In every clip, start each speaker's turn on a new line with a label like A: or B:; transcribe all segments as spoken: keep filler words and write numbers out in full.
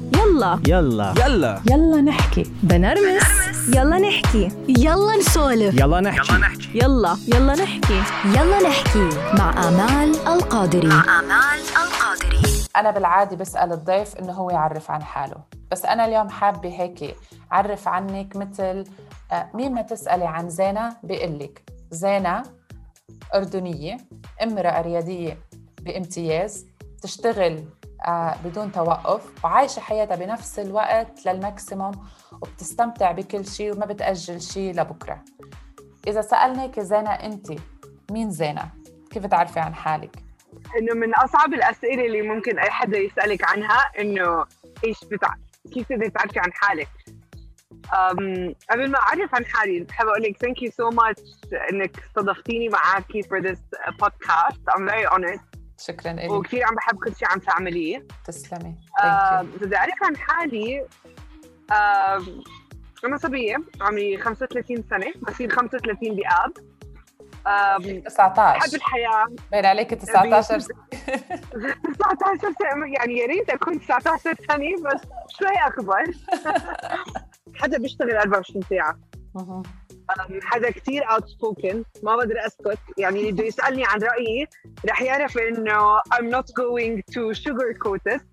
A: يلا
B: يلا
C: يلا
D: يلا نحكي
A: بنرمس يلا نحكي
E: يلا نسولف
B: يلا نحكي
A: يلا يلا نحكي
E: يلا نحكي مع آمال القادري
F: مع آمال القادري. أنا بالعادة بسأل الضيف إنه هو يعرف عن حاله، بس أنا اليوم حابة هيك أعرف عنك مثل مين ما تسألي عن زينة بيقلك زينة أردنية، امرأة ريادية بامتياز، تشتغل بدون توقف وعايشة حياتها بنفس الوقت للماكسيموم وبتستمتع بكل شيء وما بتأجل شيء لبكرة. إذا سألناك زينة أنت مين زينة؟ كيف تعرفي عن حالك؟
G: إنه من أصعب الأسئلة اللي ممكن أي حدا يسألك عنها إنه إيش بتع... كيف تقدري تعرفي عن حالك؟ Um, قبل ما أعرف عن حالي بحب أقول لك thank you so much إنك استضفتيني معاكي for this podcast. I'm very honored.
F: شكراً لك.
G: وكثير عم بحب كل شيء عم تعمليه.
F: تسلمي.
G: إذا بدي أعرف عن حالي uh, أنا صبية عمري خمسة وثلاثين سنة، بصير خمسة وثلاثين بآب.
F: تسعة عشر.
G: بحب الحياة.
F: بين عليك تسعة عشر.
G: تسعة عشر سنة، يعني يا ريت أكون تسعة عشر سنة بس شوي أكبر. حدا بيشتغل أربعة وعشرين ساعة. حدا كتير outspoken، ما بقدر أسكت، يعني اللي بده يسألني عن رأيي رح يعرف إنه I'm not going to sugarcoat it.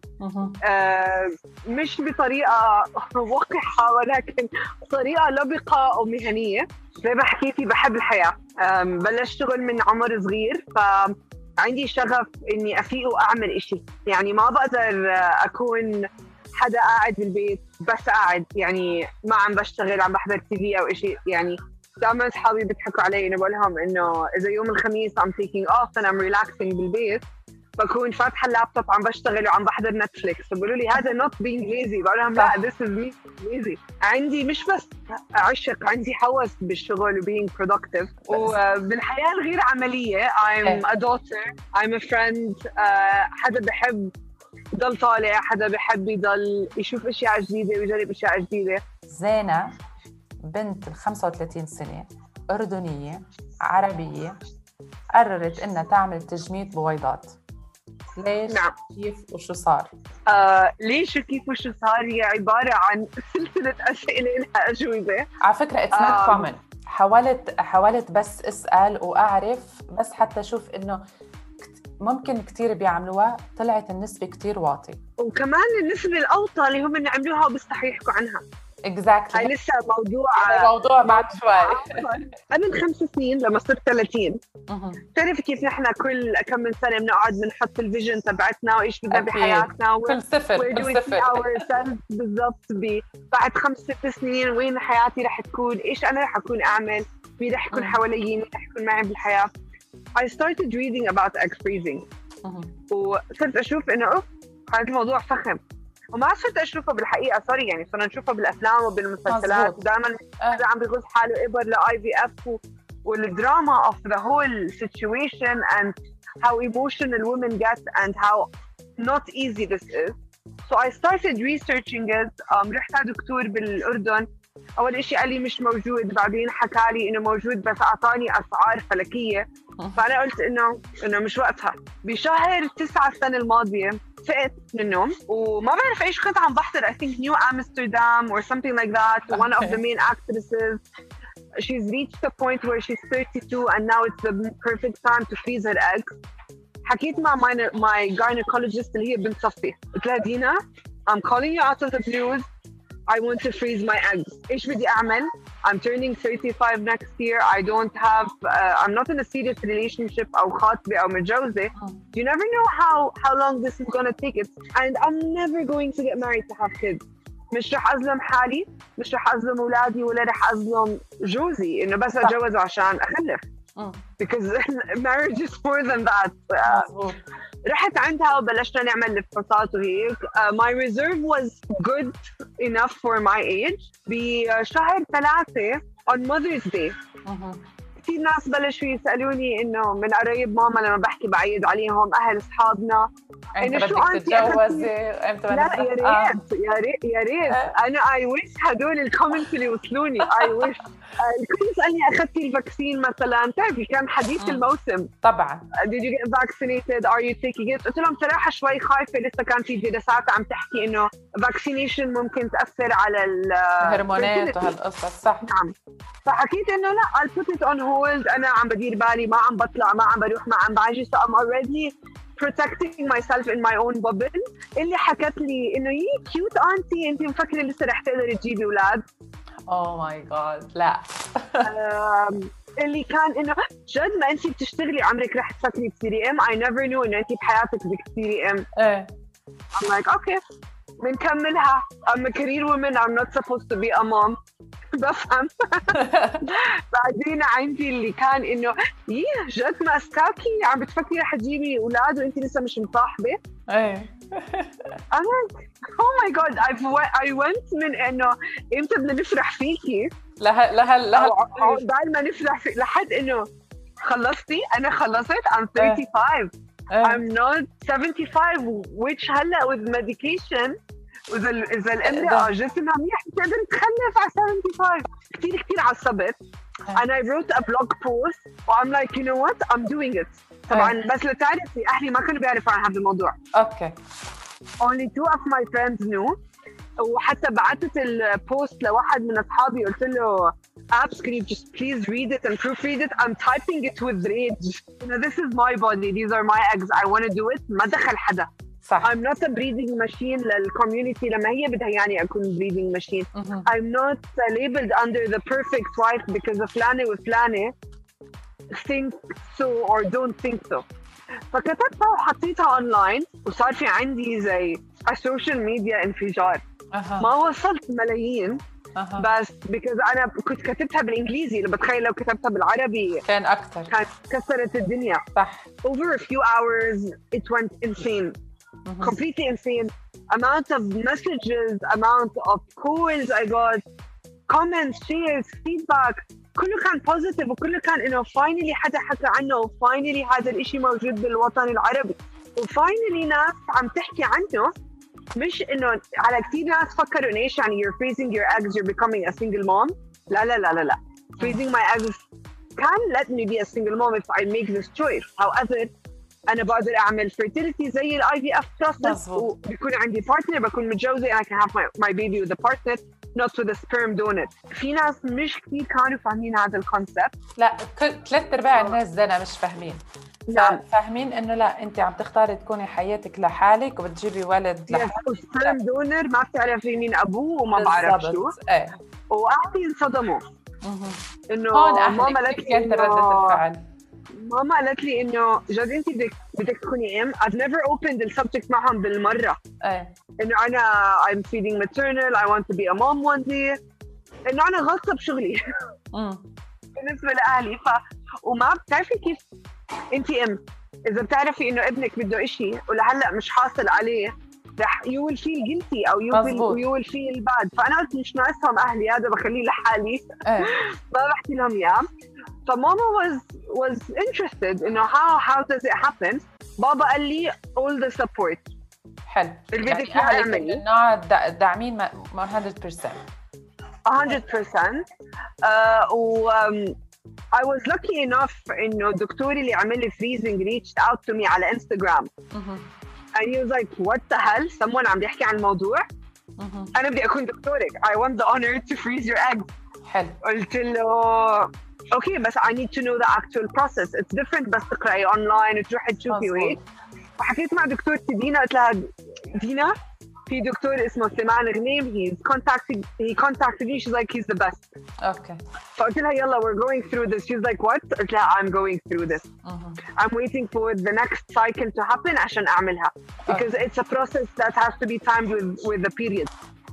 G: آه مش بطريقة وقحة ولكن بطريقة لبقة ومهنية. زي ما حكيتي بحب الحياة. بلشت شغل من عمر صغير، فعندي شغف إني أفيق وأعمل إشي، يعني ما بقدر أكون حدا قاعد بالبيت بس قاعد، يعني ما عم بشتغل عم بحضر تي في أو إشي. يعني دائما أصحابي بيضحكوا علي إنه بقولهم إنه إذا يوم الخميس I'm taking off and I'm relaxing بالبيت بكون فاتحة اللابتوب عم بشتغل وعم بحضر نتفليكس، وبيقولوا لي هذا not being lazy. بقولهم لا this is me lazy. عندي مش بس عشق، عندي هوس بالشغل و being productive. وبالحياة الغير عملية I'm a daughter, I'm a friend. حدا بحب يضل طالع، حدا بحب يضل يشوف اشياء جديدة ويجرب اشياء جديدة.
F: زينة بنت خمسة وثلاثين سنة أردنية عربية قررت إنها تعمل تجميد بويضات. ليش؟
G: نعم.
F: كيف وشو صار؟
G: آه، ليش وكيف وشو صار هي عبارة عن سلسلة أسئلة لها أجوبة.
F: على فكرة it's not آه. common. حاولت حاولت بس أسأل وأعرف، بس حتى أشوف إنه ممكن كتير بيعملوها، طلعت النسبة كتير واطي.
G: وكمان النسبة الأوطى اللي هم عملوها وبيستحوا يحكوا عنها.
F: exactly.
G: هاي لسه موضوع
F: موضوع بعد شوي.
G: قبل خمس سنين لما صرت ثلاثين تعرف كيف نحن كل كم من سنة بنقعد بنحط الفيجن تبعتنا وإيش بدنا بحياتنا
F: كل صفر كل
G: صفر بالضبط. بعد خمس ست سنين وين حياتي رح تكون، إيش أنا رح أكون أعمل، مين رح يكون حواليي، مين رح يكون معي بالحياة. I started reading about egg freezing. وصرت أشوف إنه أوف هذا الموضوع فخم، وما صرت أشوفه بالحقيقة سوري يعني صرنا نشوفه بالأفلام وبالمسلسلات. دائما هذا عم بيغوص حاله إبر ل آي في إف والدراما of the whole situation and how emotional women get and how not easy this is. So I started researching it. um, رحت على دكتور بالأردن، أول إشي قال لي مش موجود، بعدين حكى لي إنه موجود بس أعطاني أسعار فلكية. فأنا قلت إنه إنه مش وقتها. بشهر تسعة السنة الماضية فقت من النوم وما بعرف إيش كنت عم بحضر I think New Amsterdam or something like that. Okay. One of the main actresses, she's reached the point where she's thirty-two and now it's the perfect time to freeze her eggs. حكيت مع my, my gynecologist اللي هي بنت صفي، قلت لها دينا I'm calling you out of the blues. I want to freeze my eggs. إيش بدي أعمل؟ I'm turning thirty-five next year. I don't have, uh, I'm not in a serious relationship أو خاطبة أو متجوزة. You never know how how long this is gonna take it. And I'm never going to get married to have kids. مش رح أظلم حالي، مش رح أظلم أولادي، ولا رح أظلم جوزي إنه بس أتجوز عشان أخلف. Because marriage is more than that. Uh, رحت عندها وبلشنا نعمل الفحوصات وهيك. uh, my reserve was good enough for my age. بشهر ثلاثة on Mother's Day كثير ناس بلشوا يسالوني انه من قرايب ماما لما بحكي بعيد عليهم اهل اصحابنا
F: انت
G: إنه شو
F: بدك
G: أنت
F: تتجوزي امتى
G: لا
F: بدك
G: يا
F: آه.
G: ريت يا ريت يا ريت
F: آه.
G: انا اي ويش هدول الكومنتس اللي وصلوني اي ويش. الكل يسالني اخذتي الفاكسين مثلا، بتعرفي كان حديث
F: مم.
G: الموسم
F: طبعا
G: did you get vaccinated are you taking it. قلت لهم صراحه شوي خايفه، لسه كان في دراسات عم تحكي انه vaccination ممكن تاثر على
F: الهرمونات
G: fertility.
F: وهالقصص صح.
G: نعم، فحكيت انه لا I'll put it on hold، انا عم بدير بالي، ما عم بطلع، ما عم بروح، ما عم باجي، so I'm already protecting myself in my own bubble. اللي حكت لي انه يي كيوت انتي، انت مفكره لسه رح تقدري تجيبي اولاد؟
F: اوه ماي جاد لا.
G: um, اللي كان انه جد ما انت بتشتغلي عمرك رح تفكري تصيري ام. I never knew انه انت بحياتك بدك تصيري ام.
F: ايه
G: I'm like okay بنكملها. I'm a career woman, I'm not supposed to be a mom. بفهم. بعدين عندي اللي كان انه ييه جد ماسكاكي عم بتفكري رح تجيبي اولاد وانت لسه مش مصاحبه.
F: ايه
G: I'm like oh my god I've I went من انه امتى بدنا نفرح فيكي
F: لها لها لها
G: عقبال ما نفرح في لحد انه خلصتي. انا خلصت I'm thirty-five.
F: ايه.
G: I'm not seventy-five which هلا with medication وإذا إذا الامرأة جسمها منيح بتقدر تخلف على seventy-five. كتير كتير عصبت. and I wrote a blog post و I'm like you know what I'm doing it. طبعا بس لتعرفي أهلي ما كانوا بيعرفوا عن هذا الموضوع.
F: اوكي.
G: only two of my friends knew. وحتى بعثت البوست لواحد من أصحابي قلت له Abs, can you just please read it and proofread it? I'm typing it with rage. You know, this is my body. These are my eggs. I want to do it. ما دخل حدا.
F: صح.
G: I'm not a breeding machine للcommunity لما هي بدها يعني أكون breeding machine.
F: مهم.
G: I'm not labeled under the perfect wife because فلانة وفلانة think so or don't think so. فكتبتها وحطيتها online وصار في عندي زي السوشيال ميديا انفجار.
F: أها.
G: ما وصلت ملايين
F: أها.
G: بس because أنا كنت كتبتها بالإنجليزي، اللي بتخيل لو كتبتها بالعربي
F: كان أكتر.
G: كانت كسرت الدنيا.
F: صح.
G: Over a few hours it went insane.
F: مهم.
G: completely insane. Amount of messages, amount of calls I got, comments, shares, feedback. كله كان positive وكله كان إنه finally حدا حكى عنه و finally هذا الإشي موجود بالوطن العربي و finally ناس عم تحكي عنه. مش إنه على كتير ناس فكروا إنه إيش يعني you're freezing your eggs, you're becoming a single mom. لا لا لا لا لا. freezing my eggs can let me be a single mom if I make this choice. However أنا بقدر أعمل fertility زي ال I V F process وبيكون عندي partner، بكون متجوزة and I can have my, my baby with a partner not with a sperm donor. في ناس مش كتير كانوا فاهمين هذا الكونسبت.
F: لا كل ثلاث أرباع الناس دنا مش فاهمين.
G: نعم.
F: فاهمين إنه لا أنت عم تختاري تكوني حياتك لحالك وبتجيبي ولد لحالك.
G: sperm donor ما بتعرفي مين أبوه وما بعرف شو.
F: إيه.
G: وأهلي انصدموا. إنه
F: هون
G: ماما
F: أهلك
G: قالت
F: كيف
G: لي
F: كانت ردة الفعل؟
G: ماما قالت لي إنه جد أنت بدك بدك تكوني أم. I've never opened the subject معهم بالمرة.
F: إيه.
G: إنه أنا I'm feeding maternal, I want to be a mom one day. إنه أنا غلطة بشغلي. بالنسبة لأهلي ف وما بتعرفي كيف أنت أم. إذا بتعرفي إنه ابنك بده إشي ولهلا مش حاصل عليه رح you will feel guilty أو you will, you will feel bad. فأنا قلت مش ناقصهم أهلي، هذا بخليه لحالي. ما بحكي لهم إياه. فماما was was interested إنه how how does it happen. بابا قال لي all the support.
F: حلو.
G: اللي بدك
F: يعني أهلك
G: تعملي.
F: من النوع داعمين one hundred percent.
G: one hundred percent. uh, و um, I was lucky enough إنه دكتوري اللي عمل لي freezing reached out to me على Instagram. and he was like what the hell someone عم بيحكي عن الموضوع. أنا بدي أكون دكتورك. I want the honor to freeze your eggs.
F: حلو.
G: قلت له okay بس I need to know the actual process. It's different بس تقرأي online وتروحي تشوفي وهيك. وحكيت مع دكتورتي دينا قلت لها دينا في دكتور اسمه سليمان غنيم he's contacted he contacted me. She's like he's the best.
F: Okay.
G: فقلت لها يلا we're going through this. She's like what؟ قلت لها I'm going through this. Uh-huh. I'm waiting for the next cycle to happen عشان أعملها because okay. it's a process that has to be timed with with the period.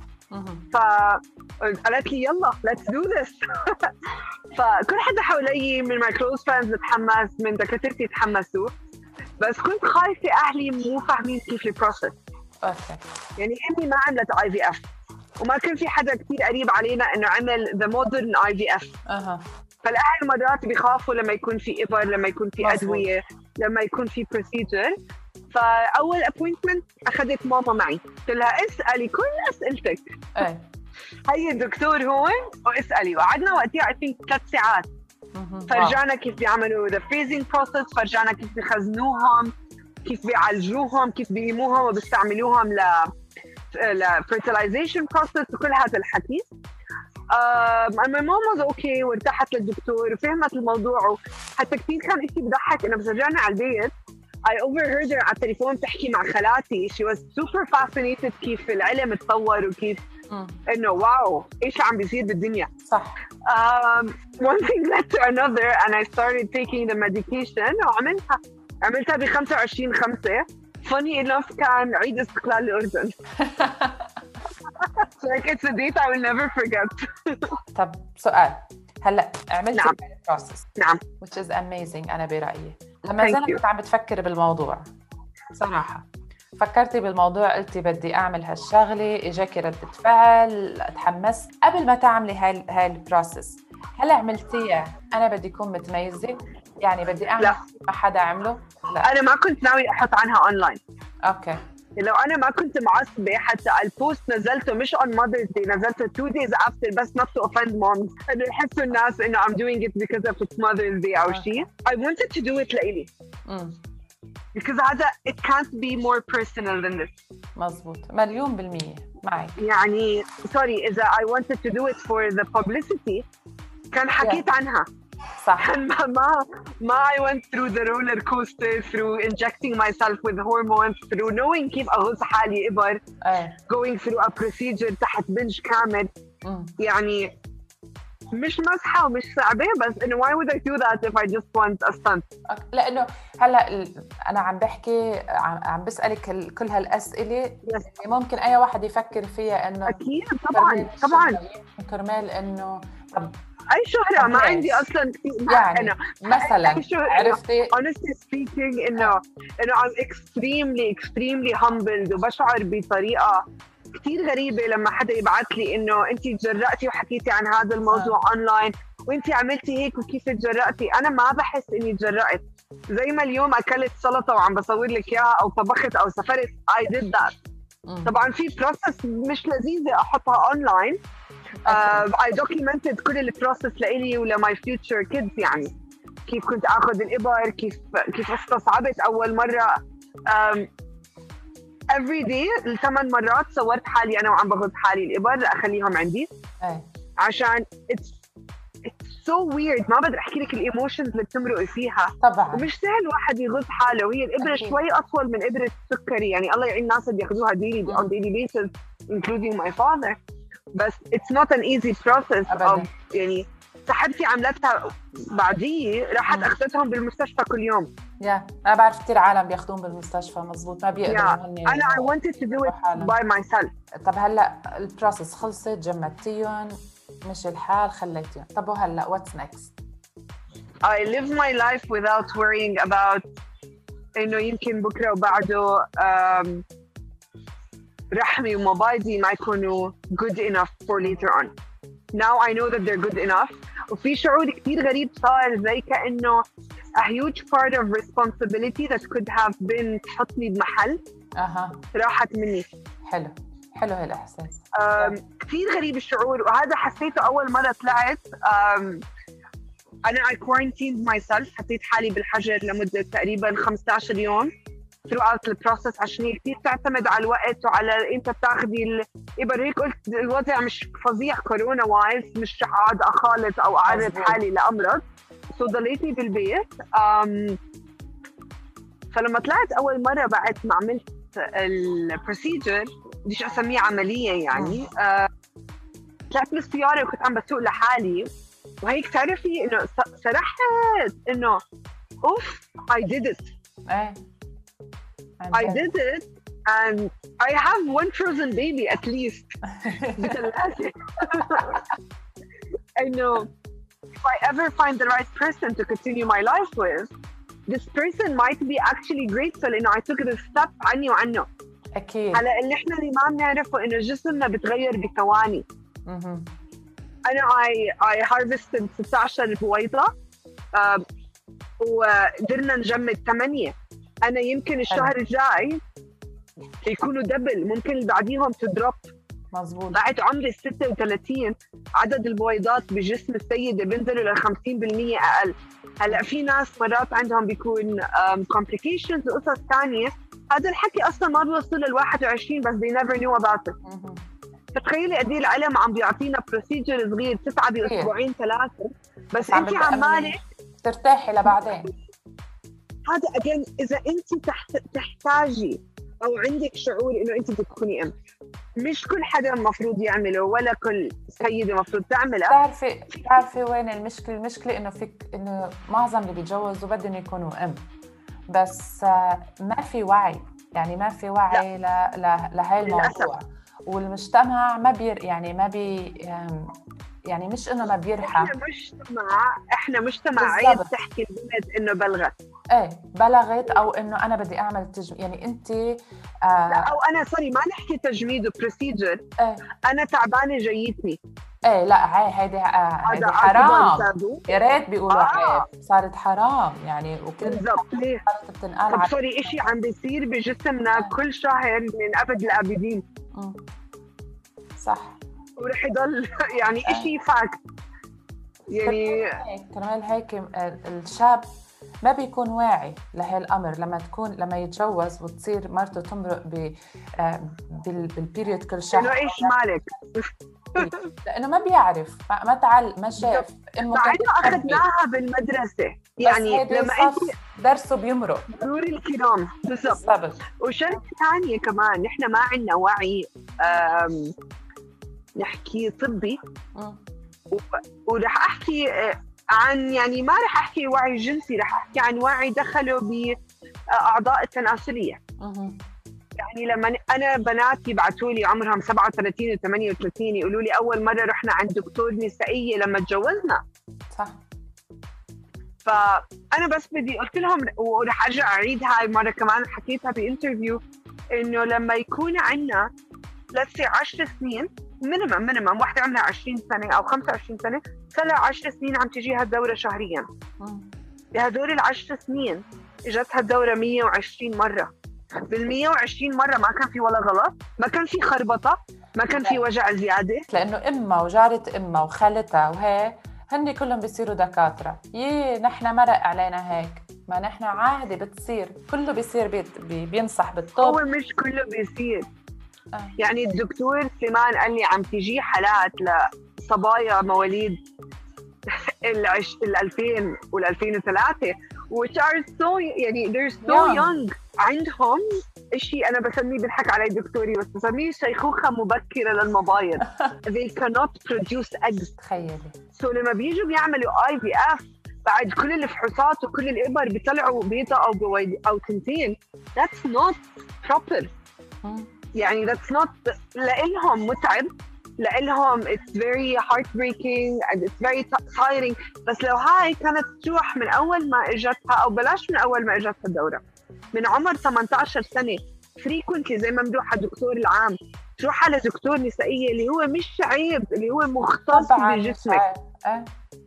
G: فقالت لي يلا let's do this. فكل حدا حوالي من my close friends تحمس، من دكاترتي تحمسوا، بس كنت خايفة أهلي مو فاهمين كيف البروسس.
F: أوكي.
G: يعني أمي ما عملت آي في إف وما كان في حدا كتير قريب علينا إنه عمل the modern آي في إف.
F: أها.
G: فالاهل مرات بيخافوا لما يكون في ابر، لما يكون في
F: مظبوط.
G: ادويه، لما يكون في بروسيجر. فاول ابوينتمنت اخذت ماما معي، قلت لها اسالي كل اسئلتك،
F: ايه
G: هي الدكتور هون واسالي. وقعدنا وقتها I think ثلاث ساعات.
F: مهم. واو.
G: فرجعنا كيف بيعملوا the freezing process، فرجعنا كيف بيخزنوهم، كيف بيعالجوهم، كيف بيقيموهم وبيستعملوهم ل ل fertilization process وكل هذا الحكي. Um, and my mom was okay وارتاحت للدكتور وفهمت الموضوع. حتى كثير كان إشي بضحك إنه بس رجعنا على البيت I overheard her على التليفون تحكي مع خالاتي. She was super fascinated كيف العلم تطور وكيف
F: مم.
G: إنه واو إيش عم بيصير بالدنيا.
F: صح.
G: Um, one thing led to another and I started taking the medication وعملتها عملتها ب خمسة وعشرين خمسة. Funny enough كان عيد استقلال الأردن. So like it's a date I will never forget.
F: طب سؤال، هلا عملتي
G: نعم.
F: البروسس
G: نعم.
F: which is amazing أنا برأيي. لما
G: Thank
F: زلت
G: you.
F: كنت عم بتفكر بالموضوع صراحة، فكرتي بالموضوع قلتي بدي أعمل هالشغلة، إجاكي ردة فعل، تحمست قبل ما تعملي هاي هاي البروسس، هلا عملتيها أنا بدي أكون متميزة، يعني بدي أعمل
G: لا.
F: ما حدا عمله؟ لا.
G: أنا ما كنت ناوي أحط عنها أونلاين.
F: أوكي.
G: لو أنا ما كنت معصبة حتى البوست نزلته مش on Mother's Day، نزلته two days after بس not to offend moms إنه يحسوا الناس إنه I'm doing it because of it's Mother's Day أو شيء. I wanted to do it لإلي.
F: امم
G: because هذا it can't be more personal than this.
F: مزبوط، مليون بالمية معك.
G: يعني sorry إذا I wanted to do it for the publicity كان حكيت yeah. عنها.
F: صح.
G: ما ما ما I went through the roller coaster through injecting myself with hormones through knowing كيف أغص حالي إبر
F: ايه.
G: going through a procedure تحت بنج كامل.
F: مم.
G: يعني مش مسحة ومش صعبة بس إنه why would I do that if I just want a stunt.
F: أوكي. لأنه هلا ال- أنا عم بحكي عم, عم بسألك ال- كل هالأسئلة
G: yes.
F: اللي ممكن أي واحد يفكر فيها إنه
G: أكيد طبعاً طبعاً
F: كرمال إنه طب
G: أي شهرة ما عندي أصلاً
F: يعني
G: أنا
F: مثلاً عرفتي
G: honestly speaking إنه إنه I'm extremely extremely humbled وبشعر بطريقة كتير غريبة لما حدا يبعث لي إنه أنتِ تجرأتي وحكيتي عن هذا الموضوع أونلاين وأنتِ عملتي هيك وكيف تجرأتي. أنا ما بحس إني تجرأت، زي ما اليوم أكلت سلطة وعم بصور لك إياها أو طبخت أو سافرت I did that.
F: مم.
G: طبعاً في process مش لذيذة أحطها أونلاين. Uh, I documented كل البروسس لإلي ولماي future kids. يعني كيف كنت أخذ الإبر، كيف كيف استصعبت أول مرة. um, every day الثمان مرات صورت حالي أنا وعم بغض حالي الإبر لأخليهم عندي.
F: ايه.
G: عشان it's it's so weird. ما بقدر أحكي لك الإيموشنز اللي بتمرقي فيها.
F: طبعا
G: ومش سهل واحد يغض حاله، وهي الإبرة
F: أكيد.
G: شوي أطول من إبرة السكري. يعني الله يعين الناس اللي بياخذوها daily on daily basis including my father. بس it's not an easy process.
F: أبداً.
G: of يعني صاحبتي عملتها بعدي راحت
F: مم.
G: أخذتهم بالمستشفى كل يوم.
F: يا أنا بعرف كتير عالم بياخدون بالمستشفى مزبوط ما بيقدروا
G: yeah.
F: هن
G: أنا I wanted to do it by myself.
F: طب هلا البروسس خلصت، جمدتيهم، مش الحال، خليتيهم، طب وهلا what's next؟
G: I live my life without worrying about إنه يمكن بكرة وبعده um, رحمي ومبايضي ما يكونوا good enough for later on. Now I know that they're good enough. وفي شعور كتير غريب صار زي كأنه a huge part of responsibility that could have been تحطني بمحل
F: أها
G: راحت مني.
F: حلو حلو هالإحساس.
G: um, كتير غريب الشعور، وهذا حسيته أول مرة طلعت. um, أنا I quarantined myself، حطيت حالي بالحجر لمدة تقريبا خمسة عشر يوم throughout the process عشان هي كتير تعتمد على الوقت وعلى أنت بتاخدي الإبر. هيك قلت الوضع مش فظيع كورونا وايز، مش رح أقعد أخالط أو أعرض حالي لأمرض، so ضليتني بالبيت. um, فلما طلعت أول مرة بعد ما عملت البروسيجر بديش أسميه عملية يعني uh, طلعت بالسيارة وكنت عم بسوق لحالي وهيك تعرفي إنه سرحت إنه أوف I did it.
F: إيه.
G: I did it and I have one frozen baby at least. بثلاثة. I know if I ever find the right person to continue my life with, this person might be actually grateful إنه I took the step عني وعنه.
F: أكيد.
G: على اللي إحنا اللي ما بنعرفه إنه جسمنا بتغير بثواني.
F: مهم.
G: انا اي اي هارفستد ستة عشر بويضه آه وقدرنا نجمد ثمانيه. انا يمكن الشهر الجاي يكونوا دبل، ممكن اللي بعديهم تدروب.
F: مزبوط.
G: بعد عمر ال ستة وثلاثين عدد البويضات بجسم السيدة بينزلوا لل خمسين بالمية أقل. هلا في ناس مرات عندهم بيكون complications وقصص ثانية، هذا الحكي أصلا ما بيوصل لل واحد وعشرين بس they never knew about it. فتخيلي قد ايه العلم عم بيعطينا بروسيجر صغير تسعة بأسبوعين ثلاثة، بس أنت عمالة
F: ترتاحي لبعدين.
G: هذا أجين إذا أنت تحت تحتاجي أو عندك شعور إنه أنت بدك تكوني أم، مش كل حدا مفروض يعمله ولا كل سيدة مفروض تعمله.
F: بتعرفي بتعرفي وين المشكلة؟ المشكلة إنه فيك إنه معظم اللي بيتجوزوا بدهم يكونوا أم، بس ما في وعي، يعني ما في وعي ل ل لهي الموضوع، والمجتمع ما بير يعني ما بي يعني مش إنه ما بيرحم.
G: إحنا مجتمع إحنا مجتمع عيب تحكي البنت إنه بلغت.
F: إيه بلغت أو إنه أنا بدي أعمل تجميد، يعني أنت آه
G: لا أو أنا سوري ما نحكي تجميد وبروسيجر. إيه أنا تعبانة جايتني.
F: إيه لا هاي هيدي هيدي حرام، يا ريت بيقولوا آه. عيب، صارت حرام يعني. وكل
G: بالضبط. ليه؟ طب سوري إشي عم بيصير بجسمنا آه. كل شهر من أبد الآبدين.
F: م. صح.
G: ورح يضل يعني إشي فاكت. يعني
F: كرمال هيك الشاب ما بيكون واعي لهي الأمر لما تكون لما يتجوز وتصير مرته تمرق ب بالبيريود كل شهر.
G: إنه إيش مالك؟
F: لأنه ما بيعرف، ما تعال ما شاف.
G: إنه أخذناها بالمدرسة، يعني لما أنت
F: درسه بيمرق.
G: ضروري الكرام. بالضبط. وشرط ثانية كمان نحن ما عندنا وعي نحكي طبي، ورح أحكي عن يعني ما رح أحكي وعي جنسي، رح أحكي عن وعي دخلوا بأعضاء التناسلية. يعني لما أنا بناتي يبعثوا لي عمرهم سبعة وثلاثين وثمانية وثلاثين يقولوا لي أول مرة رحنا عند دكتور نسائية لما تجوزنا.
F: صح.
G: فأنا بس بدي قلت لهم، ورح أرجع أعيد هاي مرة كمان حكيتها بإنترفيو، إنه لما يكون عنا لسه عشر سنين مينيمم مينيمم واحدة عمرها عشرين سنة أو خمسة وعشرين سنة صار لها عشر سنين عم تجيها الدورة شهرياً. بهدول العشر سنين إجتها الدورة مية وعشرين مرة. بالمية وعشرين مرة ما كان في ولا غلط، ما كان في خربطة، ما كان في وجع زيادة،
F: لأنه إمها وجارة إمها وخالتها وهي هن كلهم بيصيروا دكاترة. يي نحن مرق علينا هيك، ما نحن عادي بتصير، كله بيصير بيت بي بينصح بالطب.
G: هو مش كله بيصير. آه. يعني الدكتور سليمان قال لي عم تجي حالات لصبايا مواليد العش... الألفين والألفين وثلاثة which are so يعني they're so young, young. عندهم إشي أنا بسميه بالحق علي دكتوري بس بسميه شيخوخة مبكرة للمبايض. they cannot produce eggs.
F: تخيلي.
G: so لما بيجوا بيعملوا آي في إف بعد كل الفحوصات وكل الإبر بيطلعوا بيضة أو بويض أو تنتين. that's not proper. يعني that's not لإلهم متعب، لإلهم it's very heartbreaking and it's very tiring. بس لو هاي كانت تروح من أول ما إجتها أو بلاش من أول ما إجتها الدورة من عمر ثمانية عشر سنة frequently زي ما مدوح الدكتور العام تروح على دكتور نسائية اللي هو مش عيب، اللي هو مختص بجسمك. أه.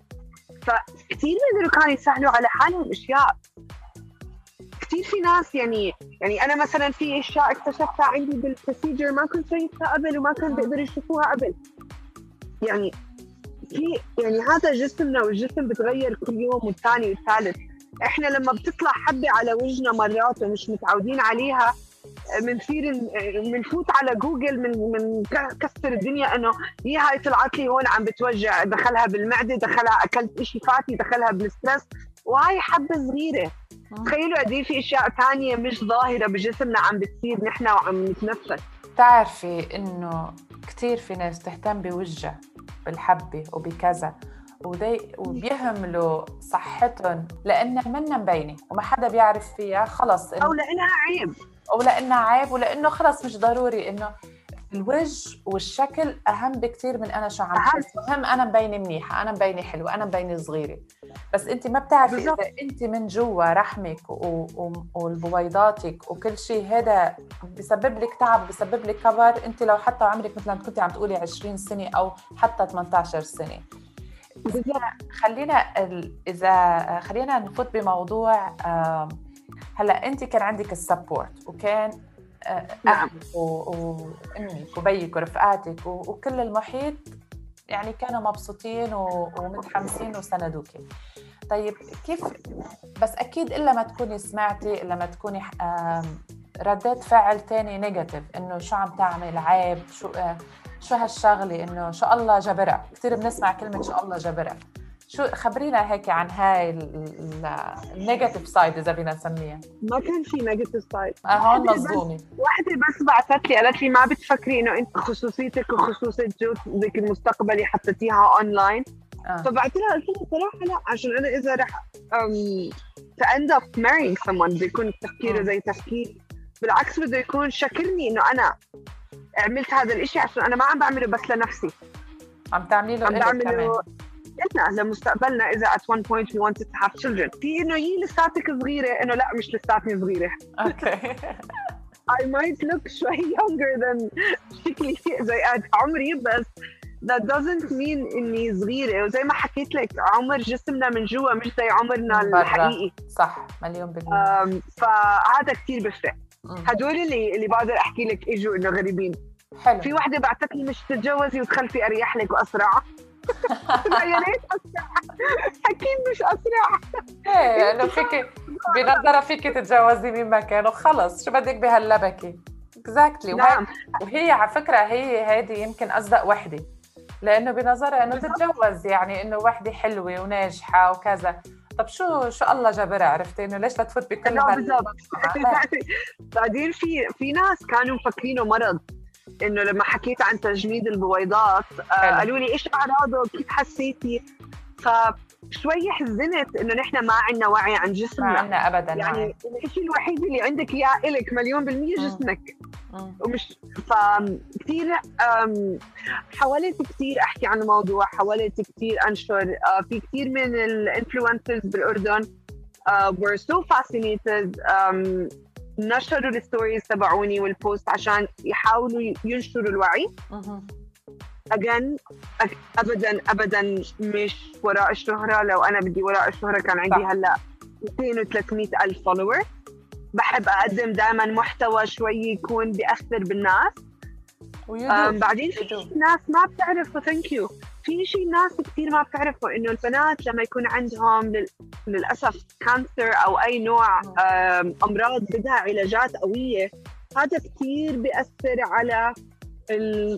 G: فكتير من كانوا يسهلوا على حالهم أشياء. كتير في ناس يعني يعني أنا مثلاً في أشياء اكتشفتها عندي بالبروسيجر ما كنت شايفها قبل وما كان بيقدروا يشوفوها قبل. يعني في يعني هذا جسمنا والجسم بتغير كل يوم والثاني والثالث. إحنا لما بتطلع حبة على وجهنا مرات ومش متعودين عليها منصير منفوت على جوجل من من كسر الدنيا إنه هي هاي طلعت لي هون عم بتوجع، دخلها بالمعدة، دخلها أكلت إشي فاتي، دخلها بالسترس، وهاي حبة صغيرة. تخيلوا قد ايه في اشياء ثانيه مش ظاهره بجسمنا عم بتصير نحن وعم نتنفس.
F: تعرفي انه كثير في ناس تهتم بوجه بالحبه وبكذا ودي وبيهملوا صحتهم لانها منا مبينه وما حدا بيعرف فيها خلص
G: او لانها عيب
F: او لانها عيب ولانه خلص مش ضروري انه الوجه والشكل اهم بكتير من انا شو عم
G: أهم.
F: بحس. مهم انا مبينه منيحه، انا مبينه حلوه، انا مبينه صغيره، بس انت ما بتعرفي
G: بالضبط.
F: اذا انت من جوا رحمك و- و- والبويضاتك وكل شيء هذا بسبب لك تعب، بسبب لك كبر. انت لو حتى عمرك مثلا كنتي عم تقولي عشرين سنه او حتى ثمانية عشر سنه.
G: بالضبط.
F: خلينا ال- اذا خلينا نفوت بموضوع. آم، هلا انت كان عندك السبورت، وكان آه،
G: نعم.
F: اهلك و- وامك وبيك ورفقاتك و- وكل المحيط يعني كانوا مبسوطين و- ومتحمسين وسندوكي. طيب كيف؟ بس اكيد الا ما تكوني سمعتي، الا ما تكوني آم، ردات فعل تاني نيجاتيف، انه شو عم تعمل، عيب، شو آه، شو هالشغله، انه شو الله جبرها. كثير بنسمع كلمه شو الله جبرها. شو خبرينا هيك عن هاي النيجاتيف سايد اذا بدنا نسميها.
G: ما كان في نيجاتيف سايد.
F: آه هون مصدومه.
G: واحدة بس بعثت لي قالت لي ما بتفكري انه انت خصوصيتك وخصوصية جوزك المستقبلي حطيتيها اونلاين؟
F: آه.
G: فبعت لها قلت لها صراحة لا، عشان انا اذا رح um, to end up marrying someone بده يكون تفكيره زي تفكير. بالعكس بده يكون شكرني انه انا عملت هذا الاشي، عشان انا ما عم بعمله بس لنفسي،
F: عم تعملي له
G: عم
F: إلك كمان.
G: بعمله لنا لمستقبلنا اذا at one point we wanted to have children. في انه يي لساتك صغيرة، انه لا مش لساتني صغيرة.
F: اوكي.
G: I might look شوي younger than شكلي زي عمري، بس that doesn't mean إني صغيرة. وزي ما حكيت لك عمر جسمنا من جوا مش زي عمرنا
F: من برا.
G: الحقيقي.
F: صح، مليون بالمية.
G: أم، فهذا كتير بفرق.
F: مم.
G: هدول اللي اللي بقدر أحكي لك إجوا إنه غريبين.
F: حلو.
G: في واحدة بعتت لي مش تتجوزي وتخلفي أريح لك وأسرع. لا يا ريت أسرع، أكيد مش أسرع.
F: ايه انه فيك بنظرة فيك تتجوزي مين ما كان وخلص، شو بدك بهاللبكة. اكزاكتلي.
G: نعم.
F: وهي على فكرة هي هذه يمكن أصدق وحدة، لأنه بنظرها إنه تتجوز يعني إنه وحدة حلوة وناجحة وكذا. طب شو شو الله جبرها، عرفتي إنه ليش لا تفوت بكل
G: لا
F: هال-
G: بالضبط. بعدين في في ناس كانوا مفكرينه مرض، انه لما حكيت عن تجميد البويضات آه قالوا لي ايش اعراضه، كيف حسيتي؟ فشوي حزنت انه نحن ما عندنا وعي عن
F: ما
G: جسمنا.
F: عنا أبداً
G: يعني
F: وعي.
G: الشيء الوحيد اللي عندك اياه الك مليون بالمية
F: مم.
G: جسمك.
F: مم.
G: ومش فكتير أم، حاولت كتير احكي عن الموضوع، حاولت كتير انشر. آه، في كتير من الانفلونسرز بالاردن uh, were so fascinated. um, نشروا الستوريز تبعوني والبوست عشان يحاولوا ينشروا الوعي.
F: مهم.
G: again أك- ابدا ابدا مش وراء الشهرة. لو انا بدي وراء الشهرة كان عندي
F: صح.
G: هلا مئتين وثلاثمئة الف فولوور. بحب اقدم دائما محتوى شوي يكون بيأثر بالناس.
F: ويدو.
G: um, بعدين في
F: يدو.
G: ناس ما بتعرفوا ثانك يو في شيء ناس كثير ما بتعرفوا انه البنات لما يكون عندهم لل... للاسف كانسر او اي نوع um, امراض بدها علاجات قوية، هذا كثير بيأثر على ال...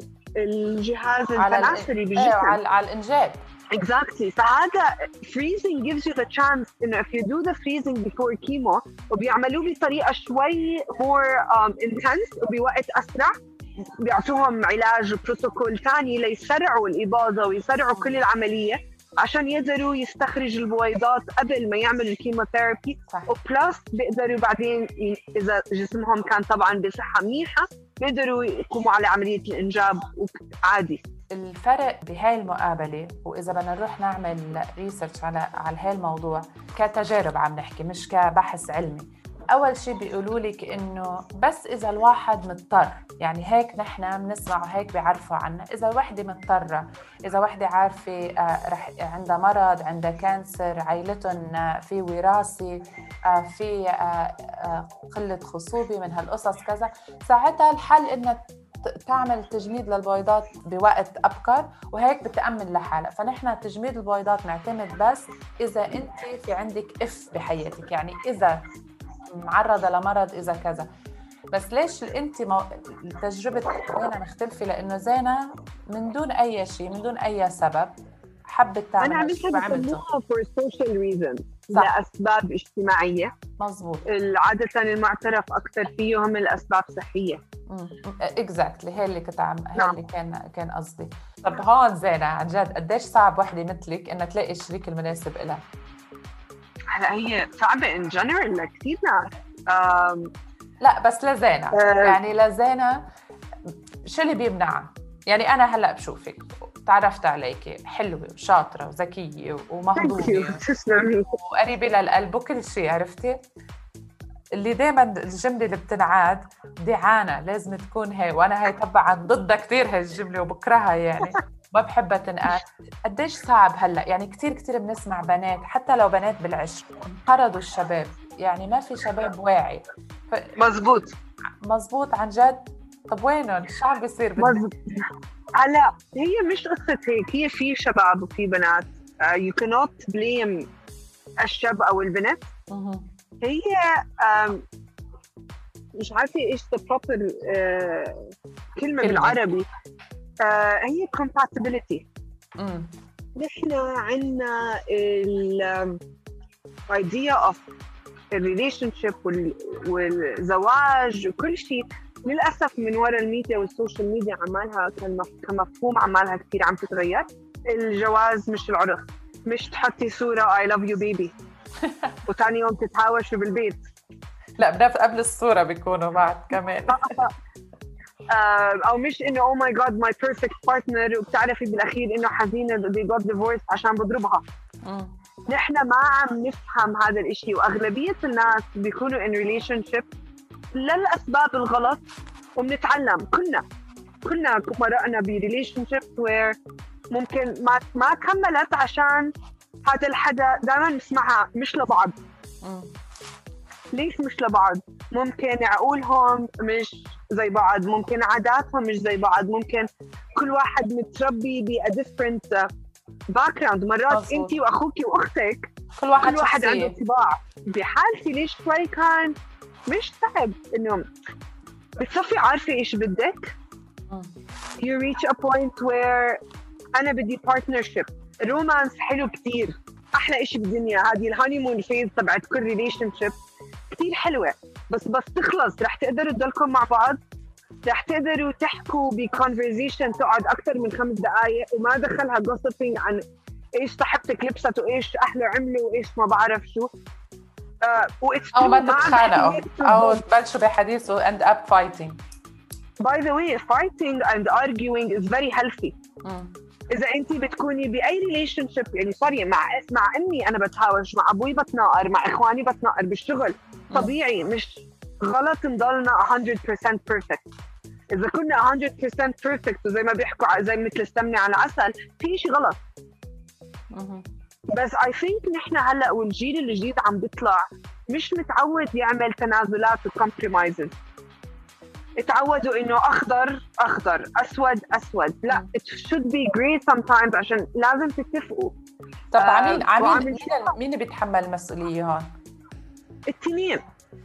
G: الجهاز
F: على
G: التناسلي
F: ال-
G: بالجسم.
F: ايه على على الإنجاب.
G: Exactly. فهذا freezing gives you the chance إنه if you do the freezing before chemo وبيعملوه بطريقة شوي more um, intense وبوقت أسرع، بيعطوهم علاج وبروتوكول ثاني ليسرعوا الإباضة ويسرعوا كل العملية عشان يقدروا يستخرج البويضات قبل ما يعملوا الكيموثيرابي.
F: صح.
G: وبلس بيقدروا بعدين ي- إذا جسمهم كان طبعا بصحة منيحة بيقدروا يقوموا على عملية الإنجاب عادي.
F: الفرق بهاي المقابلة، وإذا بدنا نروح نعمل ريسيرش على على هاي الموضوع كتجارب عم نحكي مش كبحث علمي. أول شيء بيقولوا لك إنه بس إذا الواحد مضطر، يعني هيك نحن بنسمع وهيك بيعرفوا عنا، إذا الوحدة مضطرة، إذا وحدة عارفة آه رح عندها مرض، عندها كانسر، عائلتهم آه في وراثي، آه في آه آه قلة خصوبة من هالقصص كذا، ساعتها الحل إنها تعمل تجميد للبويضات بوقت أبكر، وهيك بتأمن لحالها. فنحن تجميد البويضات نعتمد بس إذا أنت في عندك إف بحياتك، يعني إذا معرضة لمرض، إذا كذا. بس ليش أنت مو... تجربة زينة مختلفة؟ لأنه زينة من دون أي شيء، من دون أي سبب حبت تعمل.
G: أنا عملتها بسموها for social reasons،
F: صح.
G: لأسباب اجتماعية.
F: مظبوط.
G: عادة المعترف أكثر فيهم الأسباب صحية.
F: اكزاكتلي هي اللي كنت عم هي
G: نعم.
F: اللي كان كان قصدي. طب هون زينة عن جد قديش صعب وحدة مثلك إنها تلاقي الشريك المناسب لها؟
G: هلا هي صعبة in general لكثير ناس.
F: لا بس لزينة
G: أه.
F: يعني لزينة شو اللي بيمنعها؟ يعني أنا هلأ بشوفك تعرفت عليك حلوة وشاطرة وذكية ومهضومة وقريبة للقلب وكل شيء، عرفتي؟ اللي دايما الجملة اللي بتنعاد دعانة لازم تكون هي، وأنا هي طبعا ضدها كتير هاي الجملة وبكرهها يعني ما بحبها تنقال. قديش صعب هلأ يعني كتير كتير بنسمع بنات حتى لو بنات بالعشر انقرضوا الشباب، يعني ما في شباب واعي. ف...
G: مزبوط
F: مزبوط عن جد. طب وينهم؟ شو عم بيصير؟
G: هلا هي مش قصة هيك، هي في شباب وفي بنات. uh, you cannot blame الشاب أو البنت. هي um, مش عارفة إيش the proper uh, كلمة بالعربي. uh, هي compatibility. نحن عنا ال um, idea of relationship وال, والزواج وكل شيء للأسف من وراء الميديا والسوشيال ميديا عمالها كمفهوم عمالها كتير عم تتغير. الجواز مش العرس، مش تحطي صورة I love you baby وثاني يوم تتهاوشوا بالبيت.
F: لا بنف قبل الصورة بيكونوا بعد كمان.
G: أو مش إنه oh my god my perfect partner وبتعرفي بالأخير إنه حزينة they got divorced عشان بضربها. نحن ما عم نفهم هذا الإشي، وأغلبية الناس بيكونوا in relationship للأسباب الغلط، وبنتعلم كلنا كلنا مرقنا بريليشنشيب وير ممكن ما ما كملت عشان هذا الحدا دائما نسمعها مش لبعض. ليش مش لبعض؟ ممكن عقولهم مش زي بعض، ممكن عاداتهم مش زي بعض، ممكن كل واحد متربي ب a different background. مرات انت واخوك واختك
F: كل واحد,
G: كل واحد عنده طباع. بحالتي ليش شوي كان مش صعب إنه بتصفي عارفة إيش بدك. you reach a point where أنا بدي partnership. رومانس حلو كتير، أحلى إشي بالدنيا. هذه الهانيمون فيز تبعت كل ريليشنشيب كتير حلوة، بس بس تخلص رح تقدروا تضلكم مع بعض، رح تقدروا تحكوا بكونفرزيشن تقعد أكثر من خمس دقايق وما دخلها gossiping عن إيش صاحبتك لبست وإيش أهله عملوا وإيش ما بعرف شو.
F: Uh, أو ما تتخانقوا أو تبلشوا بحديث و end up fighting.
G: By the way, fighting and arguing is very healthy. mm. إذا أنت بتكوني بأي relationship يعني صاري مع مع أمي أنا بتهاوش، مع أبوي بتناقر، مع إخواني بتناقر بالشغل. mm. طبيعي، مش غلط نضلنا one hundred percent perfect. إذا كنا one hundred percent perfect وزي ما بيحكوا زي مثل السمنة على عسل في شيء غلط. mm-hmm. بس I think نحن هلأ والجيل الجديد عم بيطلع مش متعود يعمل تنازلات وكمبرومايزز. اتعودوا إنه أخضر أخضر أسود أسود. لا it should be grey sometimes عشان لازم تتفقوا.
F: طب عمين عمين مين مين بيتحمل المسؤولية هون؟
G: التنين.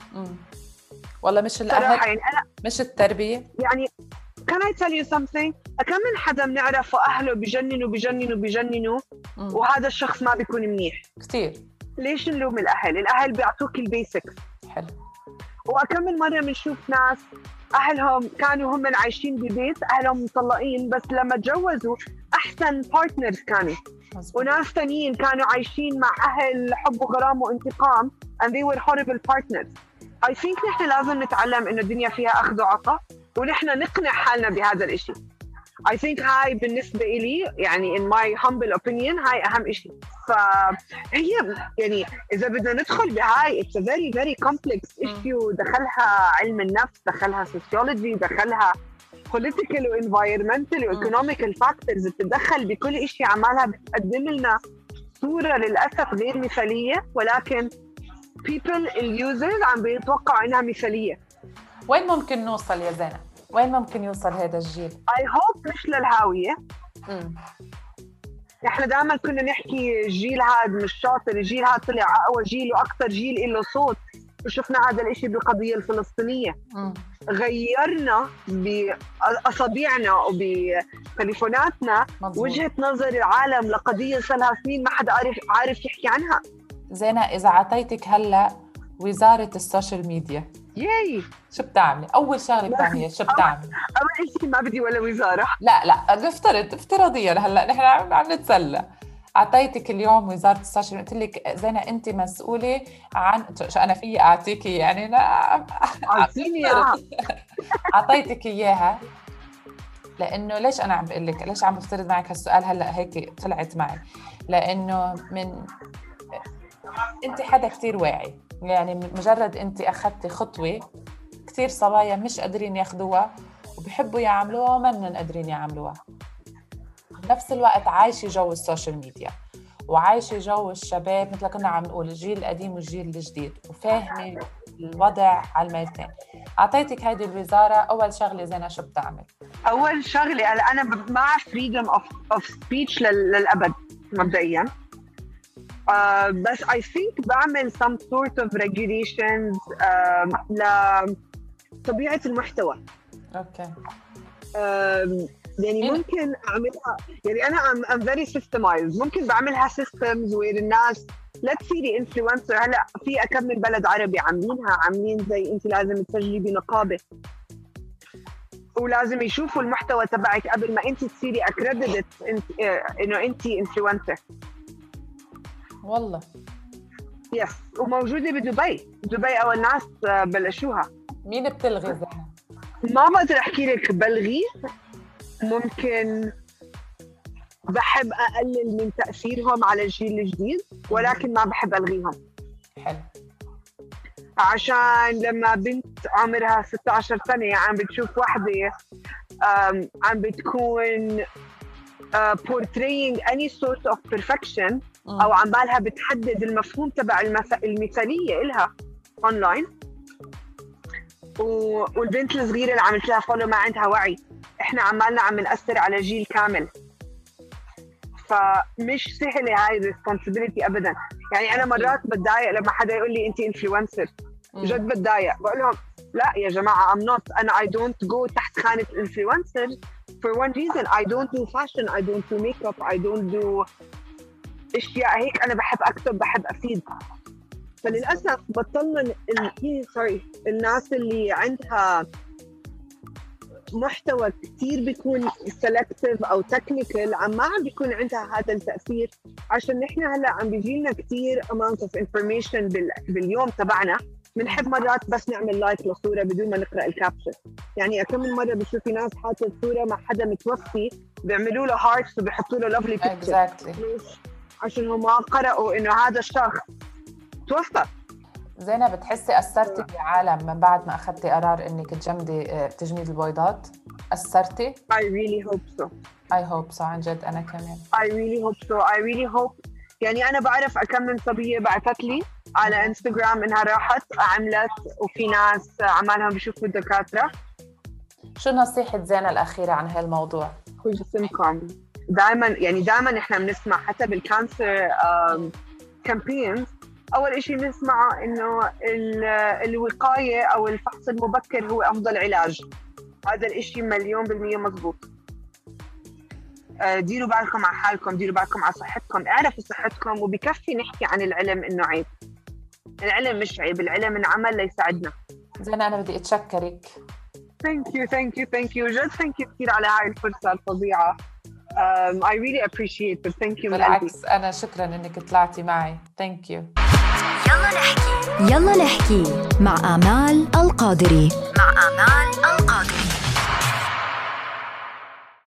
F: والله مش الأهل يعني مش التربية
G: يعني. Can I tell you something؟ كم من حدا بنعرفه أهله بجننوا بجننوا بجننوا وهذا الشخص ما بيكون منيح
F: كتير.
G: ليش نلوم الأهل؟ الأهل بيعطوك البيسكس.
F: حلو.
G: وكم من مرة بنشوف ناس أهلهم كانوا هم عايشين ببيت أهلهم مطلقين بس لما تجوزوا أحسن بارتنرز كانوا. مزبوط. وناس تانيين كانوا عايشين مع أهل حب وغرام وانتقام and they were horrible partners. I think نحن لازم نتعلم إنه الدنيا فيها أخذ وعطاء ونحن نقنع حالنا بهذا الإشي. I think هاي بالنسبة إلي يعني in my humble opinion هاي أهم إشي. فهي يعني إذا بدنا ندخل بهاي it's a very very complex issue. دخلها علم النفس، دخلها sociology، دخلها political و environmental و economical factors. بتدخل بكل إشي عمالها بتقدم لنا صورة للأسف غير مثالية، ولكن people users عم بيتوقعوا إنها مثالية.
F: وين ممكن نوصل يا زينة؟ وين ممكن يوصل هذا الجيل؟
G: I hope مش للهاوية. امم احنا دائما كنا نحكي الجيل هذا مش شاطر، الجيل هذا طلع اقوى جيل واكثر جيل له صوت، وشفنا هذا الاشي بالقضية الفلسطينية. مم. غيرنا باصابيعنا وبتليفوناتنا وجهة نظر العالم لقضية صار لها سنين ما حدا عارف عارف يحكي عنها.
F: زينة إذا عطيتك هلا وزارة السوشيال ميديا
G: ياي
F: شو بتعملي؟ أول شغلة بتعمليها شو بتعملي؟
G: أول شيء ما بدي ولا وزارة.
F: لا لا نفترض افتراضيا هلا نحن عم عم نتسلى. أعطيتك اليوم وزارة السوشيال قلت لك زينة أنت مسؤولة عن شو أنا فيي أعطيكي يعني أنا
G: أعطيني إياها.
F: أعطيتك إياها لأنه ليش أنا عم بقول لك ليش عم بفترض معك هالسؤال هلأ هيك طلعت معي؟ لأنه من أنت حدا كتير واعي، يعني مجرد أنت أخذتي خطوة كتير صبايا مش قادرين ياخدوها وبيحبوا يعملوها ومنن قادرين يعملوها. بنفس الوقت عايشة جو السوشيال ميديا وعايشة جو الشباب مثل كنا عم نقول الجيل القديم والجيل الجديد، وفاهمة الوضع على الميلتين. أعطيتك هيدي الوزارة، أول شغلة زينة شو بتعمل؟
G: أول شغلة أنا مع freedom of, of speech للأبد مبدئياً. Uh, بس I think بعمل some sort of regulations uh, لطبيعة المحتوى.
F: أوكي.
G: Uh, يعني ممكن أعملها، يعني أنا I'm, I'm very systemized. ممكن بعملها systems where الناس لا تصيري influencer. هلا في أكم من بلد عربي عاملينها، عاملين زي أنت لازم تسجلي بنقابة ولازم يشوفوا المحتوى تبعك قبل ما أنت تصيري accredited إنه أنت influencer.
F: والله
G: يس، وموجودة بدبي. دبي أول ناس بلشوها.
F: مين بتلغي زينة؟
G: ما بقدر أحكي لك بلغي، ممكن بحب أقلل من تأثيرهم على الجيل الجديد ولكن ما بحب ألغيهم.
F: حلو.
G: عشان لما بنت عمرها ستة عشر سنة عم بتشوف واحدة عم بتكون Uh, portraying any sort of perfection mm. أو عم بالها بتحدد المفهوم تبع المث... المثالية إلها online، و... والبنت الصغيرة اللي عملت لها فولو ما عندها وعي. إحنا عمالنا عم نأثر على جيل كامل، فمش سهلة هاي responsibility أبداً. يعني أنا مرات بتضايق لما حدا يقول لي أنت influencer، جد بتضايق. بقول لهم لا يا جماعة I'm not، أنا I don't go تحت خانة influencer for one reason. I don't do fashion, I don't do makeup, I don't do اشياء هيك. انا بحب اكتب، بحب افيد. فللاسف بطلنا ال... سوري الناس اللي عندها محتوى كتير بيكون selective او technical عم ما عم بيكون عندها هذا التاثير، عشان نحن هلا عم بيجيلنا كتير amount of information بال... باليوم تبعنا. بنحب مرات بس نعمل لايك لصورة بدون ما نقرأ الكابشن. يعني كم من مرة بشوفي ناس حاطة صورة مع حدا متوفي بيعملوا له هارتس وبيحطوا له لافلي بيكتشر
F: exactly.
G: عشان هم ما قرأوا إنه هذا الشخص توفى.
F: زينة، بتحسي أثرتي بعالم من بعد ما أخذتي قرار إنك تجمدي تجميد البويضات؟ أثرتي؟
G: I really hope so.
F: I hope so عن جد. أنا كمان.
G: I really hope so. I really hope. يعني أنا بعرف أكم من صبية بعثت لي على انستغرام إنها راحت عملت، وفي ناس عمالهم بيشوفوا الدكاترة.
F: شو نصيحة زينة الأخيرة عن هالموضوع؟
G: كل جسمكم. دائما يعني دائما إحنا بنسمع حتى بالكانسر كامبينز أول إشي نسمعه إنه الوقاية أو الفحص المبكر هو أفضل علاج. هذا الإشي مليون بالمية مزبوط. ديروا بالكم على حالكم، ديروا بالكم على صحتكم، اعرفوا صحتكم. وبكفي نحكي عن العلم إنه عيب. العلم مش عيب، العلم انعمل ليساعدنا.
F: زينة، أنا بدي أتشكرك.
G: Thank you, thank you, thank you. جد thank you كثير على هاي الفرصة الفظيعة. Um, I really appreciate it. Thank you.
F: بالعكس أنا شكراً إنك طلعتي معي. Thank you.
E: يلا نحكي. يلا نحكي مع آمال القادري. مع آمال القادري.